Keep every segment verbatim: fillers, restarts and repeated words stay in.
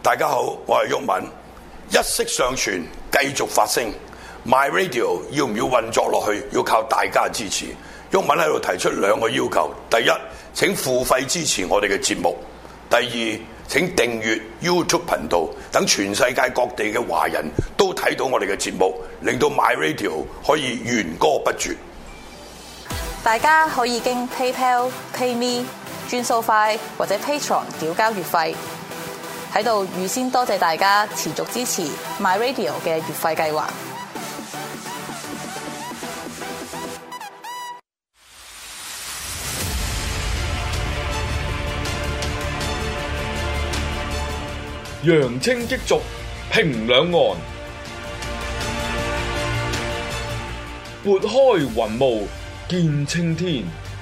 大家好，我係毓民，一息尚存，繼續發聲。My Radio 要唔要運作落去？要靠大家支持。毓民喺度提出兩個要求：第一，請付費支持我哋嘅節目；第二，請訂閱 YouTube 頻道，等全世界各地嘅華人都睇到我哋嘅節目，令到 My Radio 可以源歌不絕。 大家可以經 PayPal、PayMe、轉數快或者 Patreon 繳交月費。喺度預先多謝大家持續支持 My Radio 嘅月費計劃。 揚清激濁，平兩岸，撥開雲霧見青天。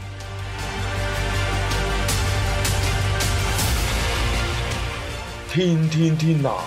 天天天藍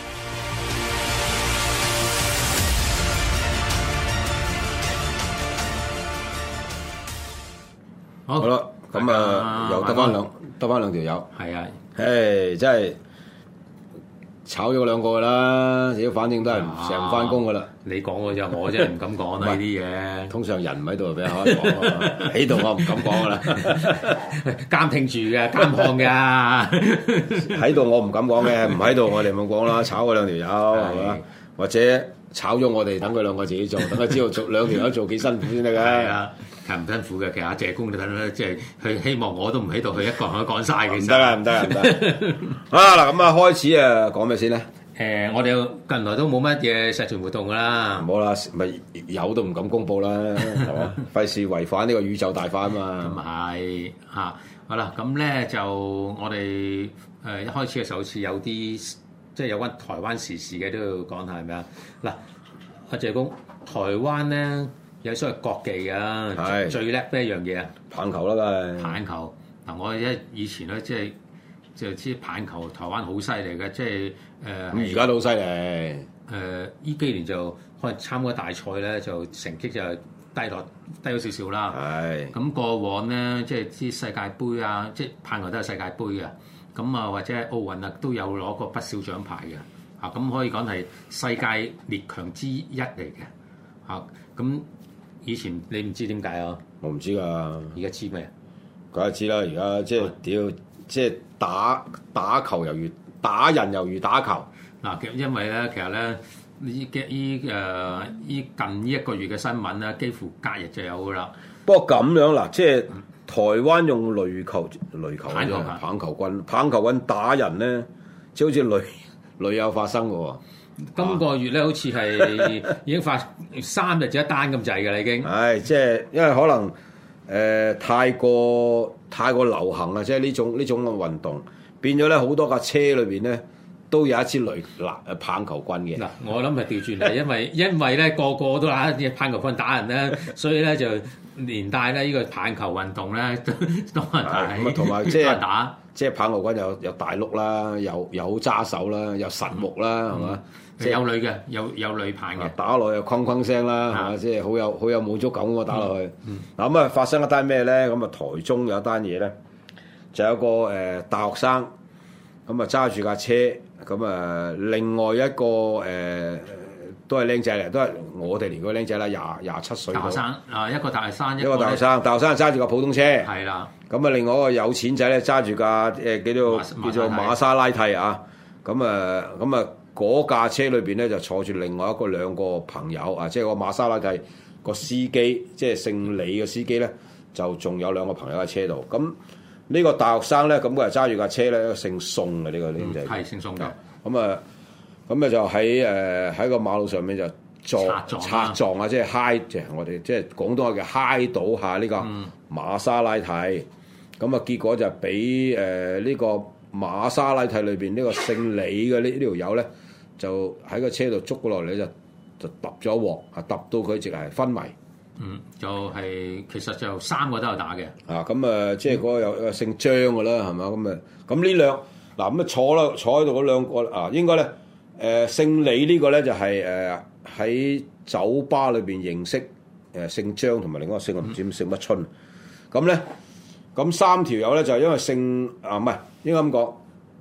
好，好啦，咁啊，又得翻兩得翻兩條友， 係啊， 誒，真係炒咗兩個噶啦，屌，反正都係成日翻工噶啦。 你講嘅就我真係唔敢講啦呢啲嘢。 通常人唔喺度就俾人可以講啊，喺度我唔敢講噶啦， 監聽住嘅，監看嘅。 喺度我唔敢講嘅，唔喺度我哋冇講啦，炒嗰兩條友係嘛，或者炒咗我哋，等佢兩個自己做，等佢知道做兩條友做幾辛苦先得㗎。 係啊，係唔辛苦嘅。其實阿謝公你睇到即係佢希望我都唔喺度，佢一個人可以講晒嘅。 唔得啊！唔得啊！唔得啊！嗱，咁啊，開始啊，講咩先咧？ 誒，我哋近來都冇乜嘢社團活動㗎啦。 冇啦，咪有都唔敢公佈啦，係嘛？費事違反呢個宇宙大法啊嘛。 咁係嚇，好啦，咁咧就我哋誒一開始嘅時候，好似有啲即係有關台灣時事嘅都要講下係咪啊？嗱，阿謝公，台灣咧有所謂國技㗎，最叻咩一樣嘢啊？ 棒球啦，梗係棒球。嗱，我一以前咧即係就知棒球台灣好犀利嘅，即係誒。 咁而家都好犀利。 誒，依幾年就可能參加大賽咧，就成績就低落低咗少少啦。 係。咁過往咧，即係啲世界盃啊，即係棒球都係世界盃嘅。咁啊，或者係奧運啊，都有攞過不少獎牌嘅。啊，咁可以講係世界列強之一嚟嘅。啊，咁以前你唔知點解啊？ 我唔知㗎。 而家知咩？ 梗係知啦！而家即係屌，即係打打球猶如打人猶如打球。 嗱，因為咧，其實咧，依嘅依誒依近呢一個月嘅新聞咧，幾乎隔日就有㗎啦。 不過咁樣嗱，即係台灣用壘球、壘球、 棒球、 棒球棍、棒球棍打人咧，即係好似屢屢有發生嘅喎。 今個月咧，好似係已經發三日就一單咁滯㗎啦，已經。 係，即係因為可能誒、呃、太過太過流行啦，即係呢種呢種嘅運動變咗咧，好多架車裏邊咧都有一支壘嗱誒棒球棍嘅。 嗱，我諗係調轉嚟，因為因為咧個個都拿啲棒球棍打人咧，所以咧就連帶咧呢個棒球運動咧都都係咁啊，同埋即係打， 即係棒球棍有有大碌啦，有有揸手啦，有實木啦，係嘛、嗯？ 即係有女嘅，有有女棒嘅， 打落去又哐哐聲啦，係嘛？即係好有好有滿足感喎，打落去。嗱咁啊，發生一單咩咧？咁啊，台中有一單嘢咧，就有個誒、呃、大學生咁啊揸住架車，咁啊另外一個誒、呃、都係僆仔嚟，都係我哋年嗰個僆仔啦，廿廿七歲。 大學生啊，一個大學生， 一個大學生，大學生揸住架普通車。 係啦。 咁啊，另外一個有錢仔咧揸住架誒叫做叫做瑪莎拉蒂啊，咁啊咁啊。嗰架車裏邊咧就坐住另外一個兩個朋友啊，即係個瑪莎拉蒂個司機，即係姓李嘅司機咧，就仲有兩個朋友喺車度。咁呢個大學生咧，咁佢係揸住架車咧，姓宋嘅呢個僆仔， 係姓宋嘅。 咁啊，咁啊就喺誒喺個馬路上面就撞擦撞啊，即係嗨，即係我哋即係廣東話嘅嗨倒下呢個瑪莎拉蒂。咁啊結果就俾誒呢個瑪莎拉蒂裏邊呢個姓李嘅呢呢條友咧。就喺個車度捉過落嚟就就揼咗鑊，啊揼到佢直係昏迷。 嗯，就係、是、其實就三個都有打嘅。 啊，咁啊，即係嗰個有個姓張嘅啦，係嘛？咁啊，咁呢兩嗱咁啊坐啦，坐喺度嗰兩個啊，應該咧誒、呃、姓李呢個咧就係誒喺酒吧裏邊認識誒、呃、姓張同埋另一個姓我唔知姓乜春。咁咧咁三條友咧就係因為姓啊唔係應該咁講。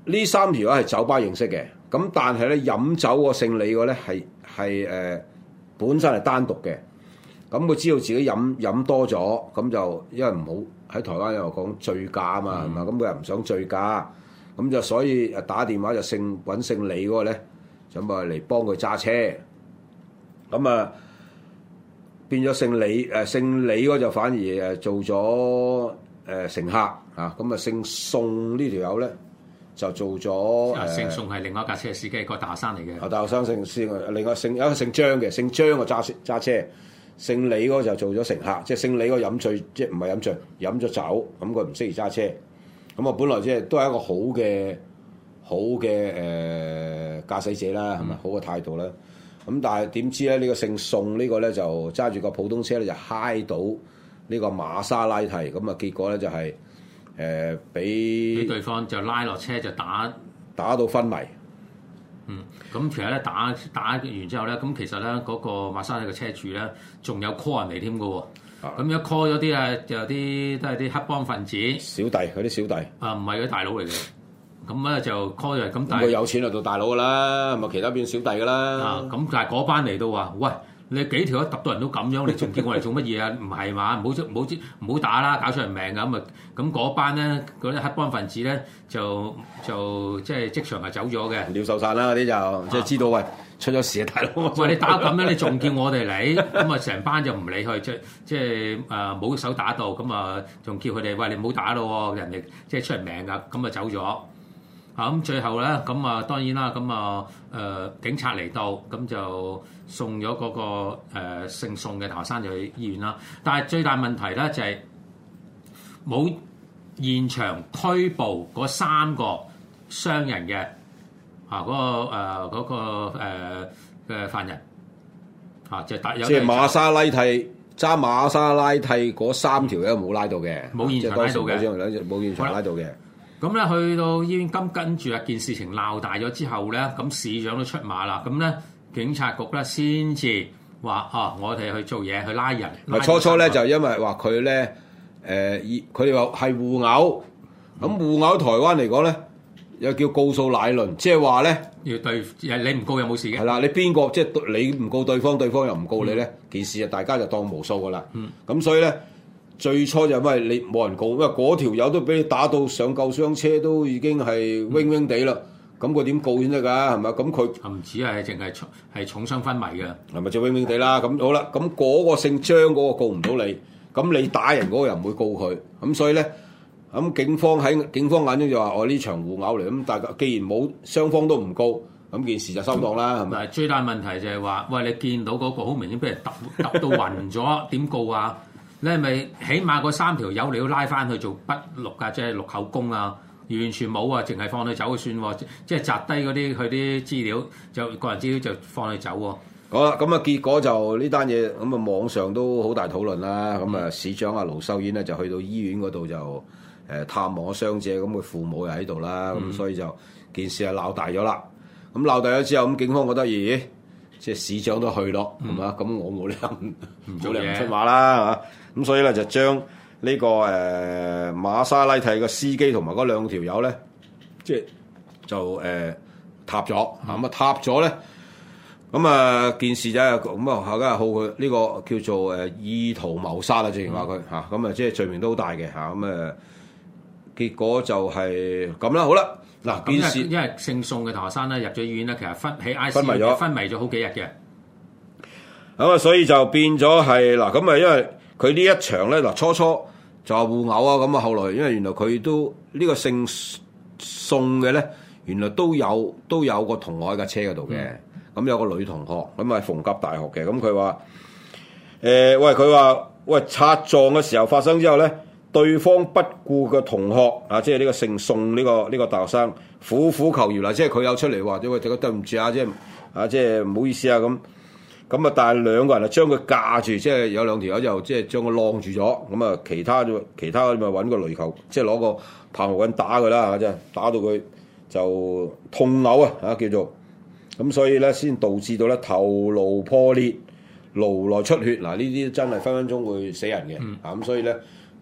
呢三條友係酒吧認識嘅，咁但係咧飲酒個姓李個咧係係誒本身係單獨嘅，咁佢知道自己飲飲多咗，咁就因為唔好喺台灣又講醉駕啊嘛，係嘛、嗯？咁佢又唔想醉駕，咁就所以誒打電話就姓揾姓李嗰個咧，就咪嚟幫佢揸車，咁啊變咗姓李誒、呃、姓李嗰就反而誒做咗誒、呃、乘客啊，咁啊姓宋呢條友咧。就做咗誒， 姓宋係另外一架車司機，個大學生嚟嘅。 啊，大學生姓姓，另外姓有一個姓張嘅，姓張個揸揸車，姓李嗰個就做咗乘客，即係姓李嗰個飲醉，即係唔係飲醉，飲咗酒，咁佢唔適宜揸車。咁啊，本來即係都係一個好嘅好嘅誒駕駛者啦，係咪、嗯、好嘅態度啦？咁但係點知咧？呢、呢個姓宋呢個咧就揸住個普通車咧就揩到呢個瑪莎拉蒂，咁啊結果咧就係、是。誒俾俾對方就拉落車就打打到昏迷。 嗯，咁其實咧打打完之後咧，咁其實咧嗰、那個瑪莎拉蒂嘅車主咧，仲有 call 人嚟添嘅喎。咁一 call 咗啲啊，就有啲都係啲黑幫分子。小弟， 嗰啲小弟。 啊，唔係嗰啲大佬嚟嘅。咁咧就 call 咗，咁但係佢有錢就做大佬㗎啦，咪其他變小弟㗎啦。 啊，咁但係嗰班嚟到話，喂！你幾條一揼到人都咁樣，你仲叫我嚟做乜嘢啊？唔係嘛？唔好唔好唔好打啦，搞出人命㗎咁啊！咁嗰班咧，嗰啲黑幫分子咧，就就即係即場係走咗嘅， 鳥獸散啦嗰啲就即係知道喂出咗事啊，大佬！ 喂，你打咁樣，你仲叫我哋嚟？咁啊，成班就唔理佢，即即係誒冇手打到，咁啊仲叫佢哋喂你唔好打咯，人哋即係出人命㗎，咁啊走咗。啊咁最後咧，咁啊當然啦，咁啊誒警察嚟到，咁就送咗嗰、那個、呃、姓宋嘅大學生就去醫院啦。但係最大問題咧就係、是、冇現場拘捕嗰三個傷人嘅啊嗰、那個誒嗰、呃那個誒嘅、呃、犯人啊，就打有即係瑪莎拉蒂揸瑪莎拉蒂嗰三條友冇拉到嘅， 冇現場拉到嘅， 冇現場拉到嘅。 咁咧去到醫院，跟跟住啊件事情鬧大咗之後咧，咁市長都出馬啦。咁咧警察局咧先至話啊，我哋去做嘢去拉人。 咪初初咧就因為話佢咧誒，佢哋話係互毆。咁互毆台灣嚟講咧，又叫告訴乃論，即係話咧要對你唔告有冇事嘅。 係啦，你邊個即係你唔告對方，對方又唔告你咧，嗯、件事啊大家就當無數噶啦。咁、嗯、所以咧。最初就因為你冇人告，因為嗰條友都俾你打到上救傷車，都已經係暈暈地啦。咁佢點告先得㗎？係咪？咁佢唔止係淨係重係重傷昏迷嘅， 係咪就暈暈地啦？咁好啦，咁嗰個姓張嗰個告唔到你，咁你打人嗰個又唔會告佢。咁所以咧，咁警方喺警方眼中就話：我呢場互毆嚟，咁大家既然冇雙方都唔告，咁件事就收檔啦，係咪？ 最大問題就係話：喂，你見到嗰個好明顯俾人揼揼到暈咗，點告啊？你係咪起碼嗰三條友你要拉翻去做筆錄啊？即係錄口供啊？完全冇啊！淨係放佢走就算喎，即係摘低嗰啲佢啲資料，就個人資料就放佢走喎。 好啦，咁啊結果就呢單嘢咁啊網上都好大討論啦。咁啊、嗯、市長阿盧秀燕咧就去到醫院嗰度就誒探望傷者，咁佢父母又喺度啦，咁、嗯、所以就件事係鬧大咗啦。咁鬧大咗之後，咁警方覺得咦？即係市長都去咯，係嘛、嗯？咁我冇理由唔冇理由唔出馬啦，係嘛？咁所以咧就將呢、這個誒、呃、瑪莎拉蒂嘅司機同埋嗰兩條友咧，即係就誒、呃、塌咗，咁啊、嗯、塌咗咧，咁啊件事就係咁啊，後家好佢呢個叫做誒意圖謀殺啦，正如話佢嚇，咁啊即係罪名都好大嘅嚇，咁啊結果就係咁啦，好啦。嗱，件事因為姓宋嘅大學生咧入咗醫院咧，其實昏喺 I C U 昏迷咗，昏迷咗好幾日嘅。 咁啊，所以就變咗係嗱，咁啊，因為佢呢一場咧，嗱初初就話互毆啊，咁啊，後來因為原來佢都呢、這個姓宋嘅咧，原來都有都有個同學喺架車嗰度嘅，咁、嗯、有個女同學，咁啊，逢甲大學嘅，咁佢話誒，喂，佢話喂擦撞嘅時候發生之後咧。對方不顧嘅同學啊，即係呢個姓宋呢、這個呢、這個大學生苦苦求饒啦，即係佢有出嚟話，因為對唔住啊，即係啊，即係唔好意思啊咁。咁啊，但係兩個人啊將佢架住，即係有兩條友就即係將佢晾住咗。咁啊，其他其他咪揾個壘球，即係攞個棒球棍打佢啦嚇，即係打到佢就痛嘔啊嚇叫做。咁所以咧，先導致到咧頭顱破裂、顱內出血。嗱，呢啲真係分分鐘會死人嘅。啊咁，所以咧。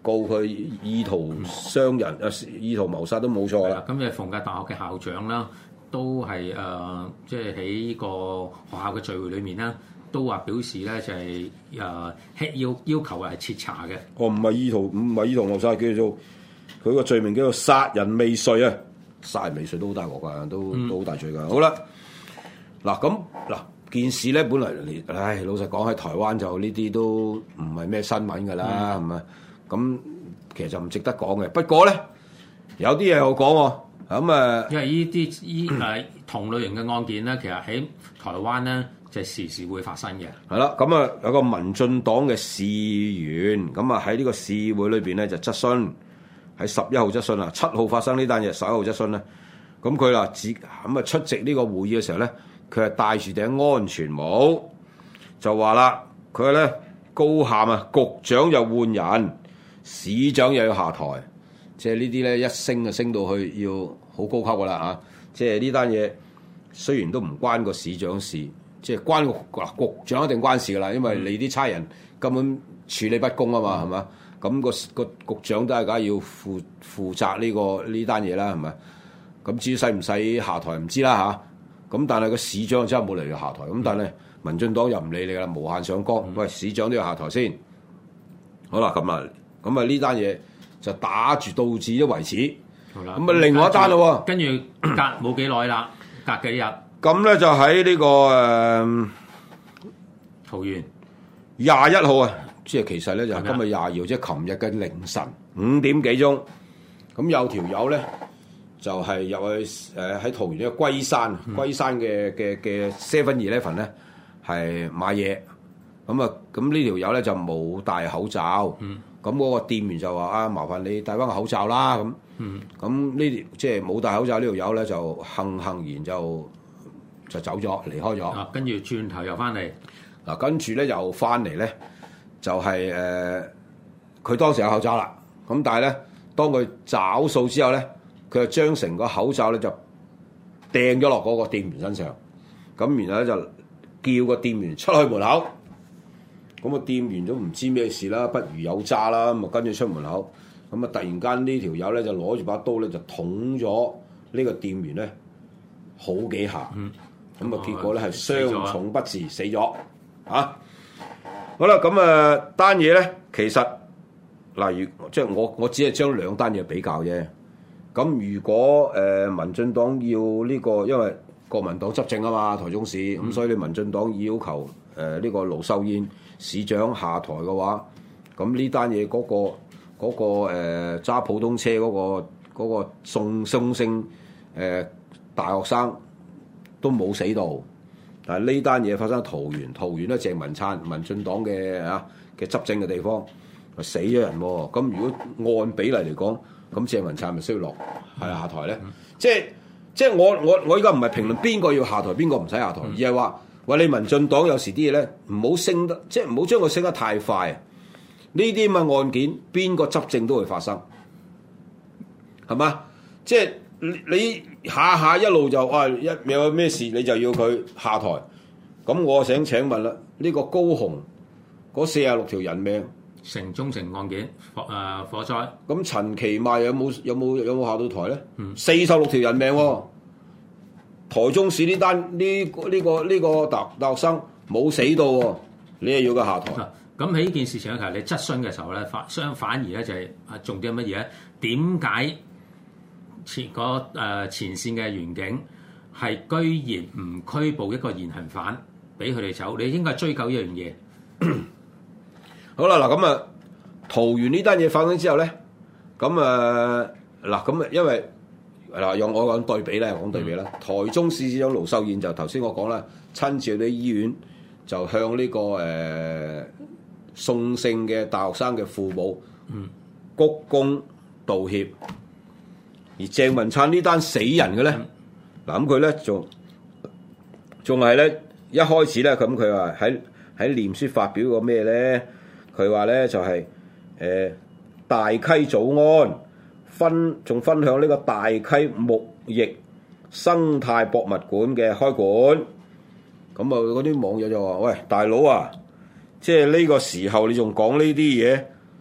告佢意圖傷人啊、嗯、意圖謀殺都冇錯啦。 咁誒逢甲大學嘅校長啦，都係誒即係喺呢個學校嘅聚會裏面啦，都話表示咧就係誒要要求係徹查嘅。 哦，唔係意圖唔係意圖謀殺，叫做佢個罪名叫做殺人未遂啊！殺人未遂都好大鑊㗎，都、嗯、都好大罪㗎。好啦，嗱咁嗱件事咧，本來唉老實講喺台灣就呢啲都唔係咩新聞㗎啦，係咪、嗯？咁其實就唔值得講嘅。不過咧有啲嘢我講喎，咁啊， 因為呢啲依誒同類型嘅案件咧，其實喺台灣咧就時時會發生嘅。 係啦，咁啊有個民進黨嘅市議員，咁啊喺呢個市會裏邊咧就質詢。喺十一號質詢啊，七號發生呢單嘢，十一號質詢咧，咁佢啦，自咁啊出席呢個會議嘅時候咧，佢係戴住頂安全帽，就話啦，佢話咧高喊啊，局長又換人，市長又要下台，即係呢啲咧一升就升到去要好高級噶啦嚇，即係呢單嘢雖然都唔關個市長事，即係關個局長一定關事噶啦，因為你啲差人根本處理不公啊嘛，係嘛、嗯？咁、那個個局長都係梗係要負負責呢、這個呢單嘢啦，係咪？咁至於使唔使下台唔知啦吓，咁、啊、但係個市長真係冇嚟要下台。咁但係民進黨又唔理你啦，無限上綱。喂，市長都要下台先。好啦，咁啊，咁啊呢單嘢就打住到至都為止。好啦，咁啊另外一單咯。 跟住隔冇幾耐啦，隔幾日。 咁咧就喺呢、這個誒、呃、 桃園廿一號啊。即係其實咧就係今日廿二號，即係琴日嘅凌晨五點幾鐘，咁有條友咧就係、是、入去誒喺、呃、桃園呢個龜山，嗯、龜山嘅嘅嘅 Seven Eleven 咧係買嘢，咁啊咁呢條友咧就冇戴口罩，咁嗰、嗯、個店員就話啊麻煩你戴翻個口罩啦咁，咁呢條即係冇戴口罩呢條友咧就悻悻然就就走咗離開咗， 啊跟住轉頭又翻嚟， 嗱跟住咧又翻嚟咧。就係、是、誒，佢、呃、當時有口罩啦，咁但係咧，當佢找數之後咧，佢就將成個口罩咧就掟咗落嗰個店員身上，咁然後咧就叫個店員出去門口，咁個店員都唔知咩事啦，不如有渣啦，咁啊跟住出門口，咁啊突然間呢條友咧就攞住把刀咧就捅咗呢個店員咧好幾下，咁啊、嗯、結果咧係傷重不治死咗，啊！好啦，咁啊單嘢咧，其實例如即係我我只係將兩單嘢比較啫。咁如果誒、呃、民進黨要呢、這個，因為國民黨執政啊嘛，台中市，咁、嗯、所以你民進黨要求誒呢、呃這個盧秀燕市長下台嘅話，咁呢單嘢嗰個嗰、那個揸、呃、普通車嗰、那個嗰、那個宋松星誒大學生都冇死到。但係呢單嘢發生喺桃園，桃園咧鄭文燦民進黨嘅啊嘅執政嘅地方，死咗人喎。咁如果按比例嚟講，咁鄭文燦咪需要落係下台咧？嗯、即係即係我我我依家唔係評論邊個要下台，邊個唔使下台，嗯、而係話喂你民進黨有時啲嘢咧唔好升得，即係唔好將佢升得太快。呢啲咁嘅案件，邊個執政都會發生，係嘛？即係。你下下一路就啊一有咩事你就要佢下台，咁我想請問啦，呢、這個高雄嗰四十六條人命城中城案件火誒、呃、火災， 咁陳其邁有冇有冇有冇下到台咧？四十六條人命、哦，台中市呢單呢呢個呢、這個、這個、大大學生冇死到、哦，你又要佢下台？ 咁喺呢件事情咧，其實你質詢嘅時候咧，反相反而咧就係啊重點係乜嘢咧？點解？前嗰誒前線嘅員警係居然唔拘捕一個現行犯，俾佢哋走，你應該追究呢樣嘢。 好啦，嗱咁啊，桃園呢單嘢發生之後咧，咁啊嗱咁啊，因為嗱用我講對比咧，講對比啦。嗯、台中市市長盧秀燕就頭先我講啦，親自去啲醫院就向呢、這個誒、呃、宋姓嘅大學生嘅父母鞠躬道歉。而鄭文燦呢單死人嘅咧，嗱咁佢咧仲仲係咧一開始咧，咁佢話喺喺臉書發表個咩咧？佢話咧就係、是、誒、呃、大溪早安分仲分享呢個大溪牧役生態博物館嘅開館。咁啊嗰啲網友就話：喂，大佬啊，即係呢個時候你仲講呢啲嘢，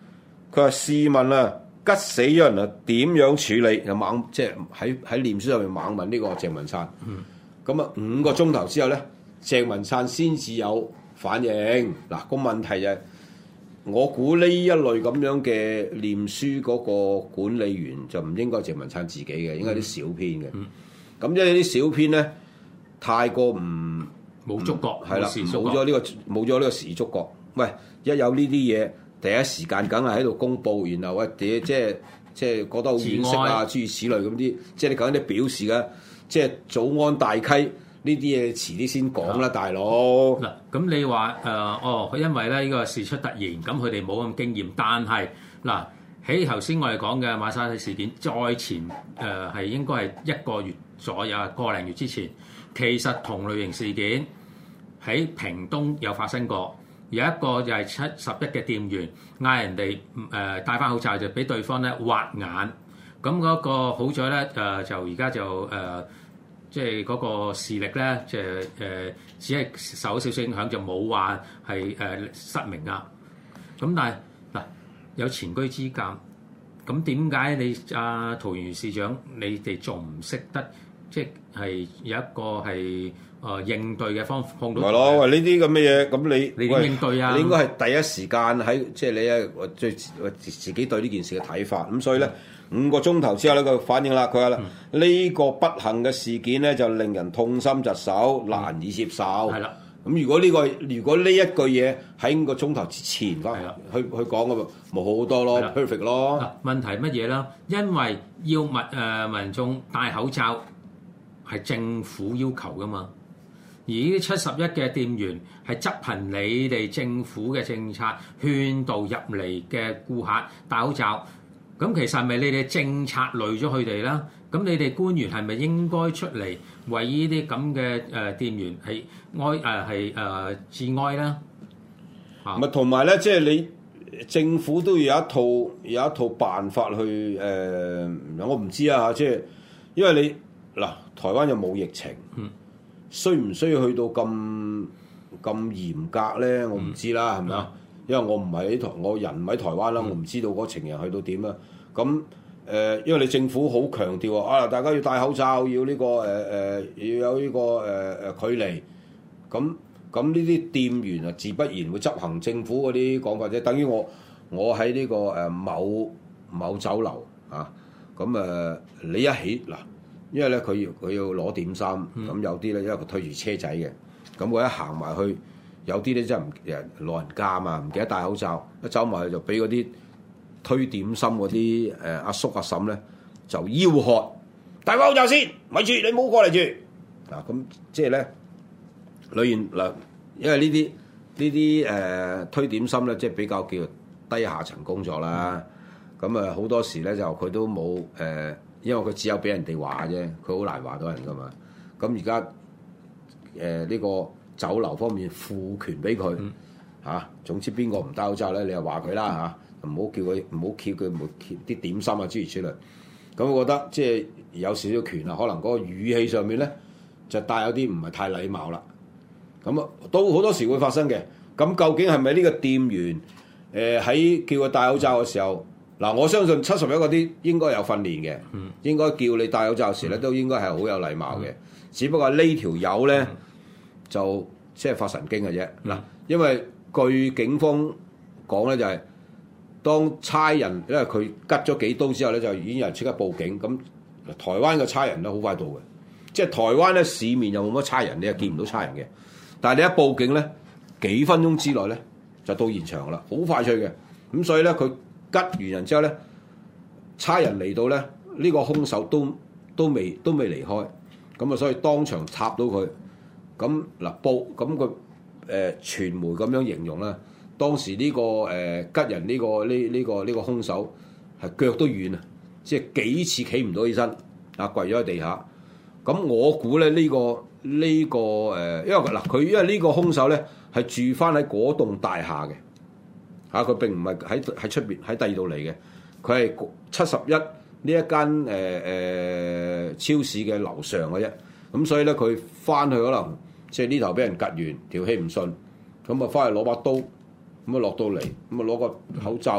佢話試問啊，吉死咗人啊，點樣處理？又猛即係喺喺臉書上面猛問呢個鄭文燦。咁啊、嗯，五個鐘頭之後咧，鄭文燦先至有反應。嗱，個問題就係、是，我估呢一類咁樣嘅臉書嗰個管理員就唔應該鄭文燦自己嘅，應該啲小編嘅。咁因為啲小編咧太過唔冇觸覺， 係啦，冇咗呢個冇咗呢個時觸覺。喂，一有呢啲嘢，第一時間梗係喺度公佈，然後喂，即係即係覺得好惋惜啊，諸如此類咁啲，即係你講啲表示嘅，即係早安大溪呢啲嘢，遲啲先講啦，大佬。 嗱，咁你話誒、呃、哦，因為咧呢個事出突然，咁佢哋冇咁經驗，但係嗱喺頭先我哋講嘅馬莎拉蒂事件，再前誒係、呃、應該係一個月左右，個零月之前，其實同類型事件喺屏東有發生過。有一個就係七十一嘅店員嗌人哋誒戴翻口罩，就俾對方咧挖眼。咁嗰個好在咧誒，就而家就誒，即係嗰個視力咧，即係誒，只係受少少影響，就冇話係誒失明啊。咁但係嗱，有前車之鑑，咁點解你阿桃園市長你哋仲唔識得，即係有一個係？誒、呃、應對嘅方法碰到， 係咯，喂呢啲咁嘅嘢，咁你你點應對啊？ 你應該係第一時間喺即係你啊，最自己對呢件事嘅睇法。咁所以咧，嗯、五個鐘頭之後咧，佢反應啦，佢話啦，呢、嗯、個不幸嘅事件咧，就令人痛心疾首，難以接受。係啦、嗯，咁如果呢、這個如果呢一句嘢喺五個鐘頭之前翻去去講嘅，咪好好多咯 ，perfect 咯。 嗱，問題乜嘢啦？因為要民誒、呃、民眾戴口罩係政府要求噶嘛。而呢啲七十一嘅店員係執行你哋政府嘅政策，勸導入嚟嘅顧客戴口罩。咁其實係咪你哋政策累咗佢哋啦？咁你哋官員係咪應該出嚟為呢啲咁嘅誒店員係哀誒係誒致哀啦？ 咪同埋咧，即係你政府都要有一套有一套辦法去誒、呃，我唔知啊嚇，即係因為你嗱台灣又冇疫情。嗯需唔需要去到咁咁嚴格咧？我唔知啦，係咪啊？因為我唔係喺台，我人唔喺台灣啦，嗯、我唔知道嗰情形去到點啦。咁誒、呃，因為你政府好強調啊，大家要戴口罩，要呢、這個誒誒、呃，要有呢、這個誒誒、呃、距離。咁咁呢啲店員啊，自不然會執行政府嗰啲講法啫。等於我我喺呢、這個誒、呃、某某酒樓啊，咁誒、呃、你一起嗱。因為咧佢要佢要攞點心，咁、嗯、有啲咧因為佢推住車仔嘅，咁我一行埋去，有啲咧真係唔誒老人家嘛，唔記得戴口罩，一走埋去就俾嗰啲推點心嗰啲誒阿叔阿嬸咧就吆喝戴口罩先，咪住你唔好過嚟住嗱，咁即係咧裏面嗱，因為呢啲呢啲誒推點心咧，即係比較叫低下層工作啦，咁啊好多時咧就佢都冇誒。呃因為佢只有俾人哋話啫，佢好難話到人噶嘛。咁而家誒呢個酒樓方面賦權俾佢嚇，總之邊個唔戴口罩咧，你就話佢啦嚇，唔好叫佢唔好叫佢冇啲點心啊諸如此類。咁我覺得即係有少少權啊，可能嗰個語氣上面咧就帶有啲唔係太禮貌啦。咁啊都好多時會發生嘅。咁究竟係咪呢個店員誒喺、呃、叫佢戴口罩嘅時候？嗱，我相信七十一嗰啲應該有訓練嘅，嗯、應該叫你戴口罩時咧，都應該係好有禮貌嘅。嗯、只不過呢條友咧就即係發神經嘅啫。嗱、嗯，因為據警方講咧，就係、是、當差人因為佢吉咗幾刀之後咧，就已經有人即刻報警。咁台灣嘅差人咧好快到嘅，即係台灣咧市面又冇乜差人，你又見唔到差人嘅。但係你一報警咧，幾分鐘之內咧就到現場啦，好快脆嘅。咁所以咧佢。吉完人之後咧，差人嚟到咧，呢、這個兇手都都未都未離開，咁啊，所以當場插到佢。咁嗱報咁個誒傳媒咁樣形容啦，當時呢、這個誒、呃、吉人呢、這個呢呢、這個呢、這個兇手係腳都軟啊，即係幾次企唔到起身，啊跪咗喺地下。咁我估咧呢、這個呢、這個誒、呃，因為嗱佢因為呢個兇手咧係住翻喺嗰棟大廈嘅。嚇！佢、啊、並唔係喺喺出邊喺第二度嚟嘅，佢係七十一呢一間誒誒、呃、超市嘅樓上嘅啫。咁所以咧，佢翻去可能即係呢頭俾人趌完，條氣唔順，咁啊翻去攞把刀，咁啊落到嚟，咁啊攞個口罩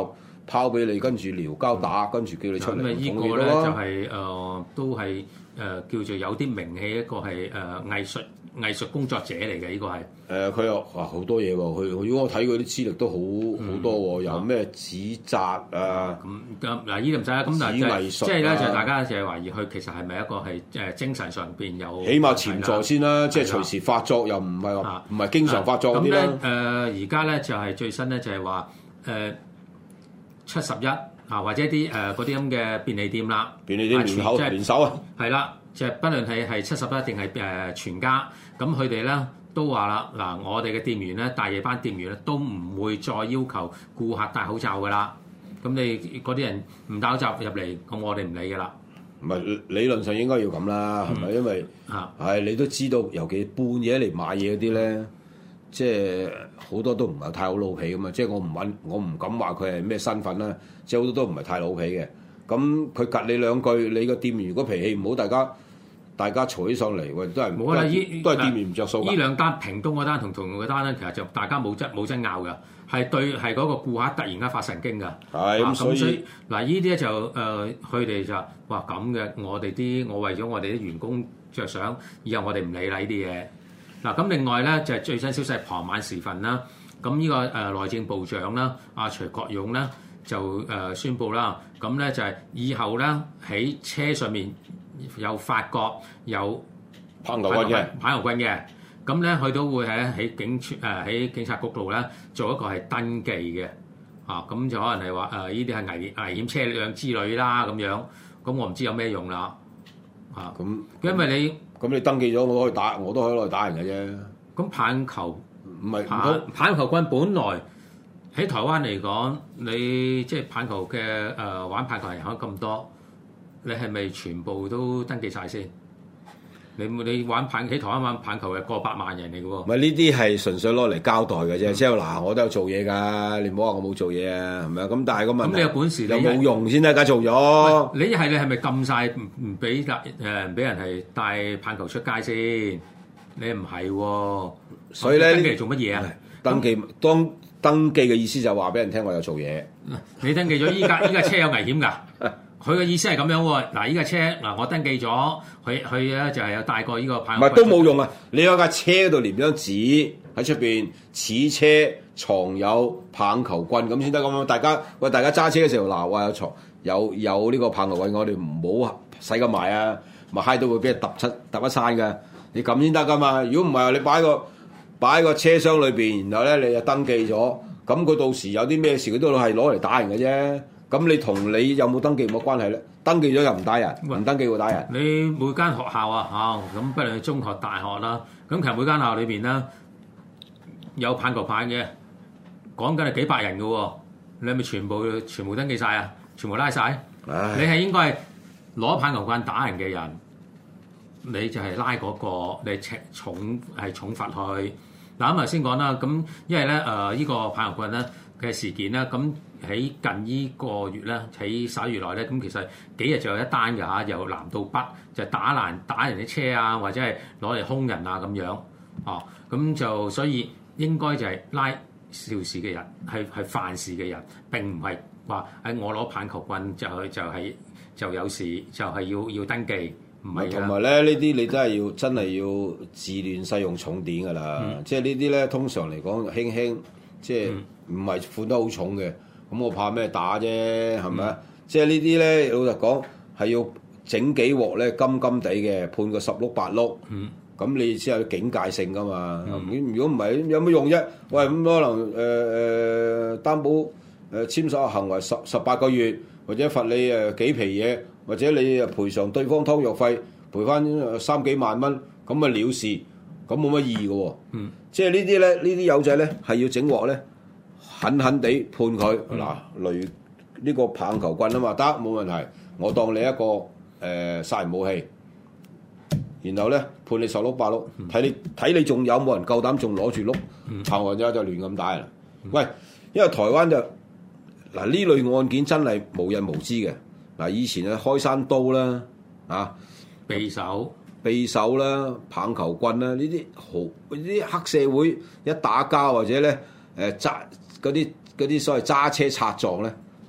拋俾你，跟住撩交打，跟住叫你出嚟。 咁啊，依統個咧咯就係、誒、都係誒、呃、叫做有啲名氣，一個係誒、呃、藝術藝術工作者嚟嘅，呢個係。 誒佢又哇好多嘢喎，佢如果我睇佢啲資歷都好好、嗯、多喎，有咩紙紮啊， 咁咁嗱呢度唔使啦，咁嗱藝術、啊、 即係咧就係大家就係懷疑佢其實係咪一個係誒精神上邊有起碼潛在先啦，即係隨時發作又唔係話唔係經常發作嗰啲啦。 咁咧誒而家咧就係最新咧就係話誒七十一啊或者啲誒嗰啲咁嘅便利店啦， 便利店聯口聯手啊， 係啦，就係不論係係七十一定係誒全家，咁佢哋咧。都話啦，嗱，我哋嘅店員咧，大夜班店員咧，都唔會再要求顧客戴口罩噶啦。咁你嗰啲人唔戴口罩入嚟，咁我哋唔理噶啦。 唔係理論上應該要咁啦，係咪、嗯？因為啊， 係你都知道，尤其半夜嚟買嘢嗰啲咧，即係好多都唔係太好老皮噶嘛。即係我唔揾，我唔敢話佢係咩身份啦。即係好多都唔係太老皮嘅。咁佢夾你兩句，你個店員如果脾氣唔好，大家。大家嘈起上嚟，喂，都係冇啦，都係店員唔着數㗎。呢兩單屏東嗰單同同用嗰單咧，其實就大家冇爭冇爭拗㗎，係對係嗰個顧客突然間發神經㗎。係咁，所以嗱，依啲咧就誒，佢哋就話咁嘅，我哋啲我為咗我哋啲員工着想，以後我哋唔理啦呢啲嘢。嗱，咁另外咧就係最新消息，傍晚時分啦，咁呢個誒內政部長啦，阿徐國勇咧就誒宣布啦，咁咧就係以後咧喺車上面。有法國有棒球棍嘅棒球棍嘅，咁咧佢都會喺喺警誒喺警察局度咧做一個係登記嘅，啊咁就可能係話誒呢啲係危危險車輛之類啦咁樣，咁我唔知有咩用啦，啊咁，因為你咁你登記咗，我可以打，我都可以攞嚟打人嘅啫。 咁棒球唔係棒棒球棍本來喺台灣嚟講，你即係棒球嘅誒、呃、玩棒球人口咁多。你係咪全部都登記晒先？你你玩棒喺台灣玩棒球係過百萬人嚟嘅喎。唔係呢啲係純粹攞嚟交代嘅啫。嗯、即係嗱，我都有做嘢㗎，你唔好話我冇做嘢啊，係咪啊？咁但係個問題，咁你有本事有冇用先得？梗做咗。 你係你係咪禁晒唔唔俾誒唔俾人係帶棒球出街先？你唔係喎。 所以咧， 登記嚟做乜嘢啊？ 登記當登記嘅意思就係話俾人聽我有做嘢。 你登記咗依家依家車有危險㗎。佢嘅意思係咁樣喎，嗱依架車嗱我登記咗，佢佢咧就係有帶過呢個棒。 唔係都冇用啊！你有架車度連張紙喺出邊，此車藏有棒球棍咁先得咁樣。大家喂，大家揸車嘅時候嗱，話有藏有有呢個棒球棍，我哋唔好使咁埋啊，咪揩到會俾人揼出揼一餐㗎。你咁先得㗎嘛？如果唔係，你擺個擺個車廂裏邊，然後咧你就登記咗，咁佢到時有啲咩事，佢都係攞嚟打人嘅啫。咁你同你有冇登記冇關係咧？登記咗又唔打人，唔登記會打人。 你每間學校啊，嚇咁不論係中學、大學啦，咁其實每間學校裏邊咧有棒球棒嘅，講緊係幾百人嘅喎，你係咪全部全部登記晒啊？全部拉晒？唉你係應該係攞棒球棍打人嘅人，你就係拉嗰、嗰個，你重重係重罰佢。嗱咁頭先講啦，咁因為咧誒呢個棒球棍咧嘅事件咧，咁。喺近依個月咧，喺十一月內咧，咁其實幾日就有一單嘅嚇，由南到北就打爛打人啲車啊，或者係攞嚟兇人啊咁樣，哦，咁就所以應該就係拉肇事嘅人，係係犯事嘅人，並唔係話喺我攞棒球棍就係就係就有事，就係要要登記，唔係。 同埋咧，呢啲你真係要真係要自亂世用重典㗎啦，嗯、即係呢啲咧通常嚟講輕輕，即係唔係判得好重嘅。咁我怕咩打啫，係咪啊？嗯、即係呢啲咧，老實講係要整幾鑊咧，金金地嘅判個十碌八碌。嗯，咁你先有警戒性噶嘛？嗯、如果唔係，有乜用啫？喂，咁可能誒誒、呃、擔保誒、呃、簽手行為十十八個月，或者罰你誒幾皮嘢，或者你誒賠償對方湯藥費，賠翻三幾萬蚊，咁咪了事，咁冇乜意義嘅喎。嗯，即係呢啲咧，呢啲友仔咧係要整鑊咧。狠狠地判佢嗱，雷呢、呢個棒球棍啊嘛，得冇問題。我當你一個誒、呃、殺人武器，然後咧判你十碌八碌，睇你睇你仲有冇人夠膽仲攞住碌棒或者就亂咁打人。嗯、喂，因為台灣就嗱呢類案件真係無人無知嘅嗱，以前啊開山刀啦啊， 匕首、 匕首啦、棒球棍啦，呢啲好呢啲黑社會一打交或者咧誒揸。嗰啲嗰啲所謂揸車擦撞咧，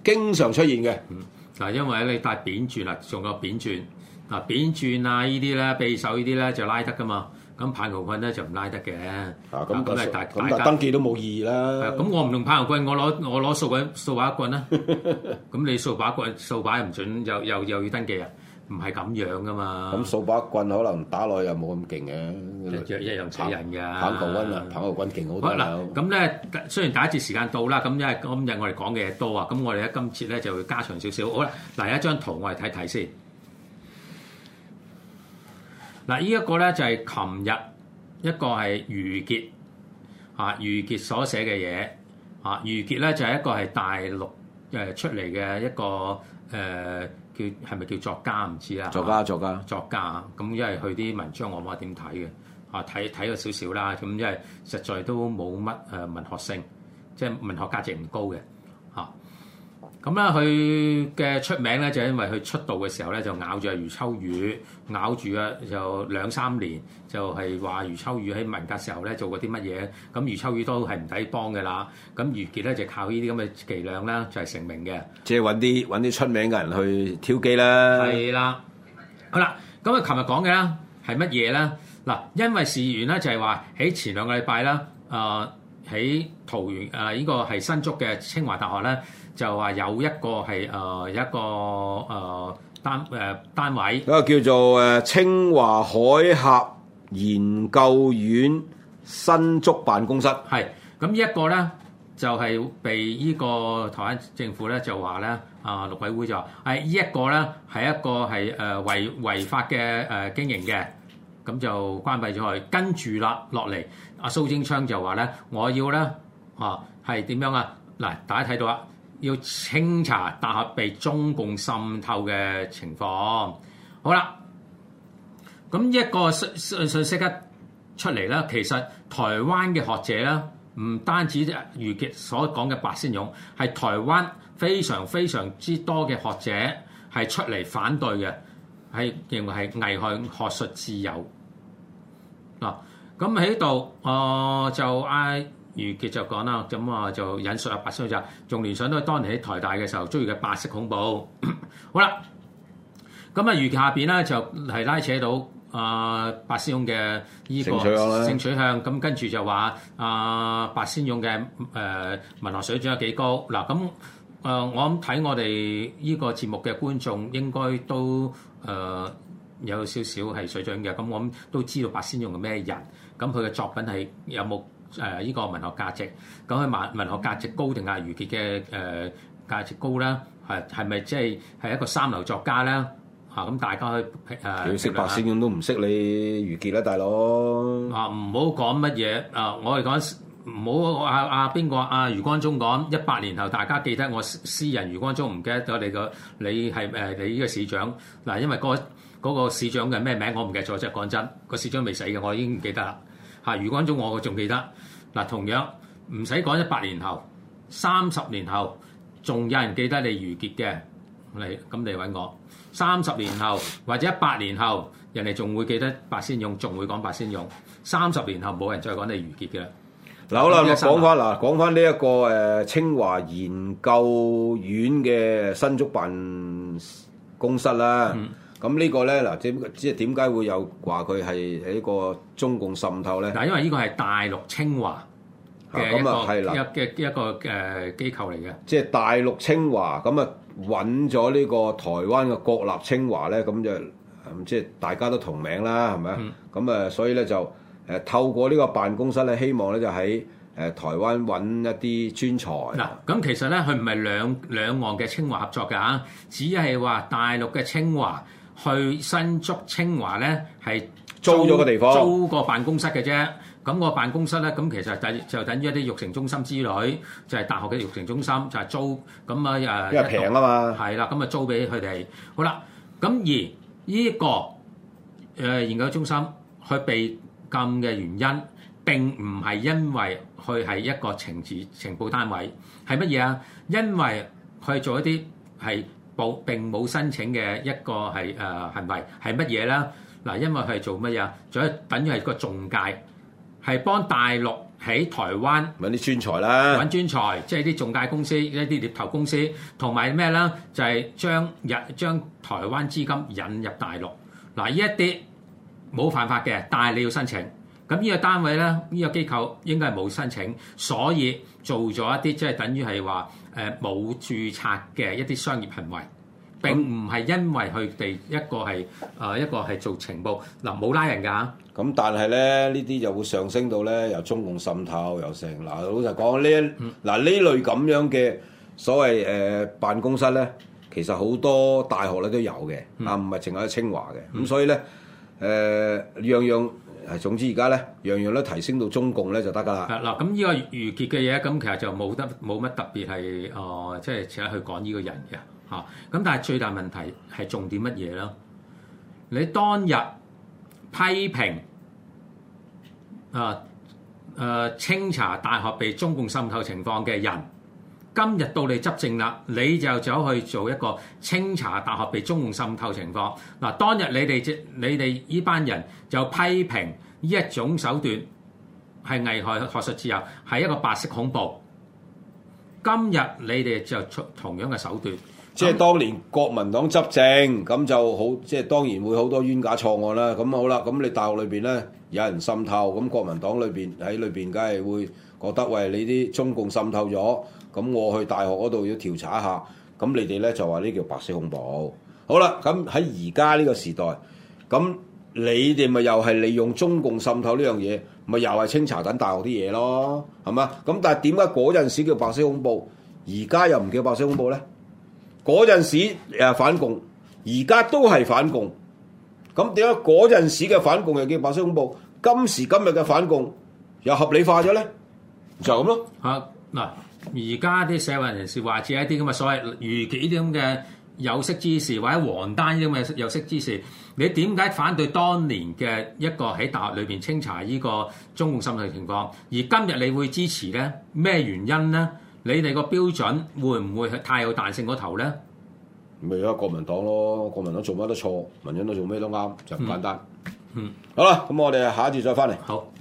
經常出現嘅。 嗱，因為你帶扁鑽啦，仲有扁鑽嗱，扁鑽啊呢啲咧，匕首呢啲咧就拉得噶嘛。咁棒球棍咧就唔拉得嘅。 啊，咁咁係大咁但登記都冇意義啦。 咁我唔用棒球棍，我攞我攞掃把掃把棍啦。咁你掃把棍掃把又唔準，又又又要登記啊？唔係咁樣噶嘛。 咁掃把棍可能打落又冇咁勁嘅， 一一樣死人㗎。 棒球棍啊，棒球棍勁好多。 嗱，咁咧雖然第一節時間到啦，咁因為今日我哋講嘅嘢多啊，咁我哋咧今次咧就會加長少少。好啦，嗱有一張圖我哋睇睇先。嗱，呢一個咧就係琴日一個係余傑啊，余傑所寫嘅嘢啊，余傑咧就係一個係大陸誒出嚟嘅一個誒、呃、叫係咪叫作家唔知啦？ 作家作家作家咁，因為佢啲文章我冇乜點睇嘅啊，睇睇咗少少啦，咁因為實在都冇乜誒文學性，即係文學價值唔高嘅嚇。咁咧，佢嘅出名咧就係因為佢出道嘅時候咧就咬住阿余秋雨，咬住啊就兩三年，就係話余秋雨喺文革時候咧做過啲乜嘢，咁余秋雨都係唔抵幫嘅啦。咁余傑咧就靠呢啲咁嘅伎倆咧就係成名嘅， 即係揾啲揾啲出名嘅人去挑機啦。 係啦，好啦，咁啊，琴日講嘅啦係乜嘢咧？嗱，因為事緣咧就係話喺前兩個禮拜啦，誒喺桃園誒呢個係新竹嘅清華大學咧。就話有一個係誒、呃、一個誒、呃、單誒、呃、單位， 嗰個叫做誒清華海峽研究院新竹辦公室。係咁呢一個咧，就係、是、被呢個台灣政府咧就話咧啊陸委會就話係呢一個咧係一個係誒違違法嘅誒、呃、經營嘅，咁就關閉咗佢。跟住啦落嚟，阿蘇貞昌就話咧，我要咧啊係點樣啊？嗱，大家睇到啦。要清查大學被中共滲透嘅情況。好啦，咁一個信信信息一出嚟咧，其實台灣嘅學者咧，唔單止余傑所講嘅白先勇，係台灣非常非常之多嘅學者係出嚟反對嘅，係認為係危害學術自由。嗱，咁喺度，我就嗌。余傑就講啦，咁啊就引述阿白先勇就仲聯想到當年喺台大嘅時候遭遇嘅白色恐怖。好啦，咁啊余傑下邊咧就係拉扯到啊白先勇嘅依個性取向，咁跟住就話啊白先勇嘅誒文學水準有幾高。嗱，咁誒我諗睇我哋依個節目嘅觀眾應該都誒有少少係水準嘅，咁我諗都知道白先勇係咩人，咁佢嘅作品係有冇？誒依、呃這個文學價值，咁佢文文學價值高定係余傑嘅誒價值高咧？係係咪即係係一個三流作家咧？嚇、啊、咁大家去誒。你識白先勇都唔識你余傑啦，大佬。啊唔好講乜嘢啊！我哋講唔好阿阿邊個阿余光中講一百年後，大家記得我詩人余光中，唔記得咗你個你係誒你呢個市長嗱、啊，因為、嗰個嗰、嗰個市長嘅咩名我唔記得咗，即係講真，個市長未死嘅，我已經唔記得啦。嚇，余光中我仲記得嗱，同樣唔使講一百年後、三十年後，仲有人記得你余傑嘅，你咁你揾我。三十年後或者一百年後，人哋仲會記得白先勇，仲會講白先勇。三十年後冇人再講你余傑嘅。 嗱好啦，我講翻嗱，講翻呢一個誒、呃、清華研究院嘅新竹辦公室啦。嗯咁呢個咧嗱，即即係點解會有話佢係喺個中共滲透咧？嗱，因為呢個係大陸清華嘅一個嘅一個誒機構嚟嘅。即係大陸清華咁啊，揾咗呢個台灣嘅國立清華咧，咁就即係大家都同名啦，係咪啊？咁啊、嗯，所以咧就誒透過呢個辦公室咧，希望咧就喺誒台灣揾一啲專才。嗱，咁其實咧佢唔係兩兩岸嘅清華合作㗎嚇，只係話大陸嘅清華。去新竹清華咧係租咗個地方，租個辦公室嘅啫。咁個辦公室咧，咁其實就就等於一啲育成中心之類，就係、是、大學嘅育成中心，就係、是、租咁啊誒。因為平啊嘛。係啦，咁啊租俾佢哋。好啦，咁而呢、這個誒、呃、研究中心佢被禁嘅原因並唔係因為佢係一個情治情報單位，係乜嘢啊？因為佢做一啲係。冇並冇申請嘅一個係誒、呃、行為係乜嘢咧？嗱，因為佢係做乜嘢？做一等於係個中介，係幫大陸喺台灣揾啲專才啦， 揾專才，即係啲中介公司、一啲獵頭公司，同埋咩咧？就係、是、將日將台灣資金引入大陸。嗱，呢一啲冇犯法嘅，但係你要申請。咁呢個單位咧，呢、呢個機構應該係冇申請，所以做咗一啲即係等於係話誒冇註冊嘅一啲商業行為。並唔係因為佢哋一個係誒、呃、一個係做情報嗱冇拉人㗎， 咁但係咧呢啲就會上升到咧由中共滲透又成嗱老實講呢嗱呢類咁樣嘅所謂誒、呃、辦公室咧，其實好多大學咧都有嘅，嗯、啊唔係淨係喺清華嘅，咁、嗯、所以咧誒、呃、樣樣係總之而家咧樣樣都提升到中共咧就得㗎啦。 嗱咁呢個余傑嘅嘢咁其實就冇得冇乜特別係誒即係請去講呢個人嘅。咁、啊、但係最大問題係重點乜嘢咧？你當日批評啊誒清查大學被中共滲透情況嘅人，今日到你執政啦，你就走去做一個清查大學被中共滲透情況。嗱、啊，當日你哋即你哋呢班人就批評呢一種手段係危害學術自由，係一個白色恐怖。今日你哋就出同樣嘅手段。 即係當年國民黨執政，咁就好，即係當然會好多冤假錯案啦。咁好啦，咁你大學裏邊咧有人滲透，咁國民黨裏邊喺裏邊，梗係會覺得喂，你啲中共滲透咗，咁我去大學嗰度要調查一下。咁你哋咧就話呢叫白色恐怖。好啦，咁喺而家呢個時代，咁你哋咪又係利用中共滲透呢樣嘢，咪又係清查緊大學啲嘢咯，係嘛？咁但係點解嗰陣時叫白色恐怖，而家又唔叫白色恐怖咧？嗰陣時誒反共，而家都係反共，咁點解嗰陣時嘅反共又叫白色恐怖？今時今日嘅反共又合理化咗咧？就咁咯。 嚇嗱，而家啲社會人士話似一啲咁嘅所謂余傑啲咁嘅有識之士，或者黃丹啲咁嘅有識之士，你點解反對當年嘅一個喺大學裏邊清查呢個中共滲透情況，而今日你會支持咧？咩原因咧？你哋個標準會唔會係太有彈性嗰頭咧？ 咪而家國民黨咯，國民黨做乜都錯，民進黨做咩都啱，就咁簡單。 嗯，嗯好啦，咁我哋下一節再翻嚟。 好。